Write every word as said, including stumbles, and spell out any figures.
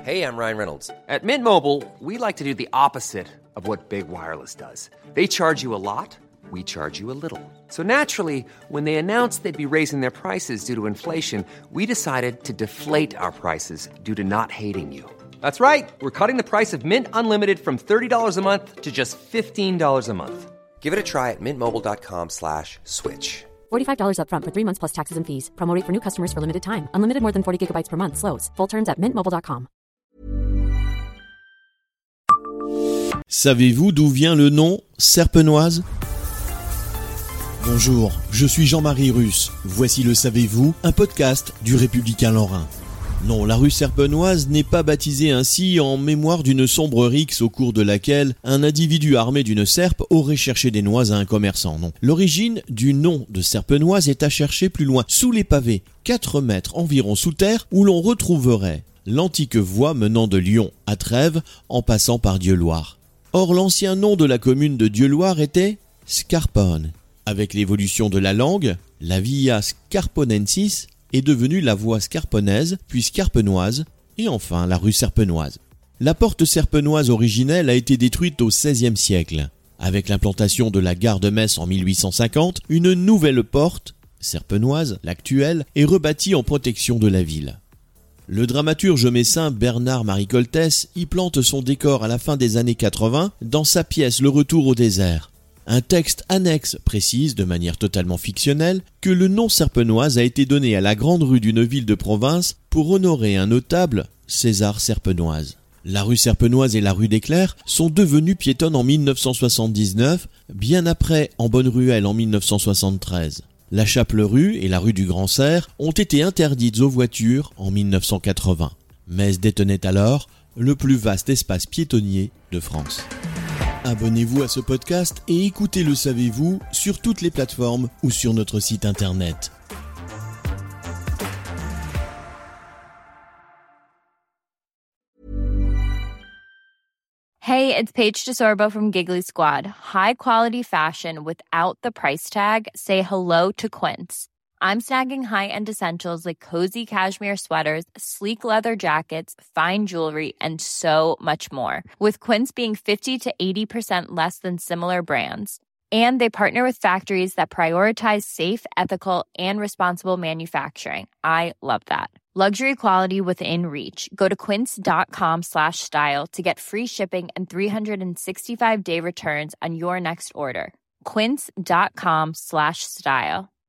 Hey, I'm Ryan Reynolds. At Mint Mobile, we like to do the opposite of what Big Wireless does. They charge you a lot, we charge you a little. So naturally, when they announced they'd be raising their prices due to inflation, we decided to deflate our prices due to not hating you. That's right. We're cutting the price of Mint Unlimited from thirty dollars a month to just fifteen dollars a month. Give it a try at mintmobile.com slash switch. forty-five dollars up front for three months plus taxes and fees. Promo rate for new customers for limited time. Unlimited more than forty gigabytes per month. Slows full terms at mint mobile dot com. Savez-vous d'où vient le nom Serpenoise ? Bonjour, je suis Jean-Marie Russe. Voici le Savez-vous, un podcast du Républicain Lorrain. Non, la rue Serpenoise n'est pas baptisée ainsi en mémoire d'une sombre rixe au cours de laquelle un individu armé d'une serpe aurait cherché des noix à un commerçant. Non, l'origine du nom de Serpenoise est à chercher plus loin, sous les pavés, quatre mètres environ sous terre, où l'on retrouverait l'antique voie menant de Lyon à Trèves en passant par Dieuloir. Or, l'ancien nom de la commune de Dieuloir était Scarpone. Avec l'évolution de la langue, la via Scarponensis est devenue la voie scarponaise, puis scarpenoise, et enfin la rue Serpenoise. La porte serpenoise originelle a été détruite au seizième siècle. Avec l'implantation de la gare de Metz en mille huit cent cinquante, une nouvelle porte, serpenoise, l'actuelle, est rebâtie en protection de la ville. Le dramaturge messin Bernard-Marie Coltès y plante son décor à la fin des années quatre-vingts dans sa pièce Le Retour au désert. Un texte annexe précise, de manière totalement fictionnelle, que le nom Serpenoise a été donné à la grande rue d'une ville de province pour honorer un notable, César Serpenoise. La rue Serpenoise et la rue des Clercs sont devenues piétonnes en mille neuf cent soixante-dix-neuf, bien après en Bonne-Ruelle en mille neuf cent soixante-treize. La Chaple-Rue et la rue du Grand Cerf ont été interdites aux voitures en mille neuf cent quatre-vingts. Metz détenait alors le plus vaste espace piétonnier de France. Abonnez-vous à ce podcast et écoutez Le Savez-vous sur toutes les plateformes ou sur notre site internet. Hey, it's Paige DeSorbo from Giggly Squad. High quality fashion without the price tag. Say hello to Quince. I'm snagging high-end essentials like cozy cashmere sweaters, sleek leather jackets, fine jewelry, and so much more. With Quince being fifty to eighty percent less than similar brands. And they partner with factories that prioritize safe, ethical, and responsible manufacturing. I love that. Luxury quality within reach. Go to quince.com slash style to get free shipping and three sixty-five day returns on your next order. Quince.com slash style.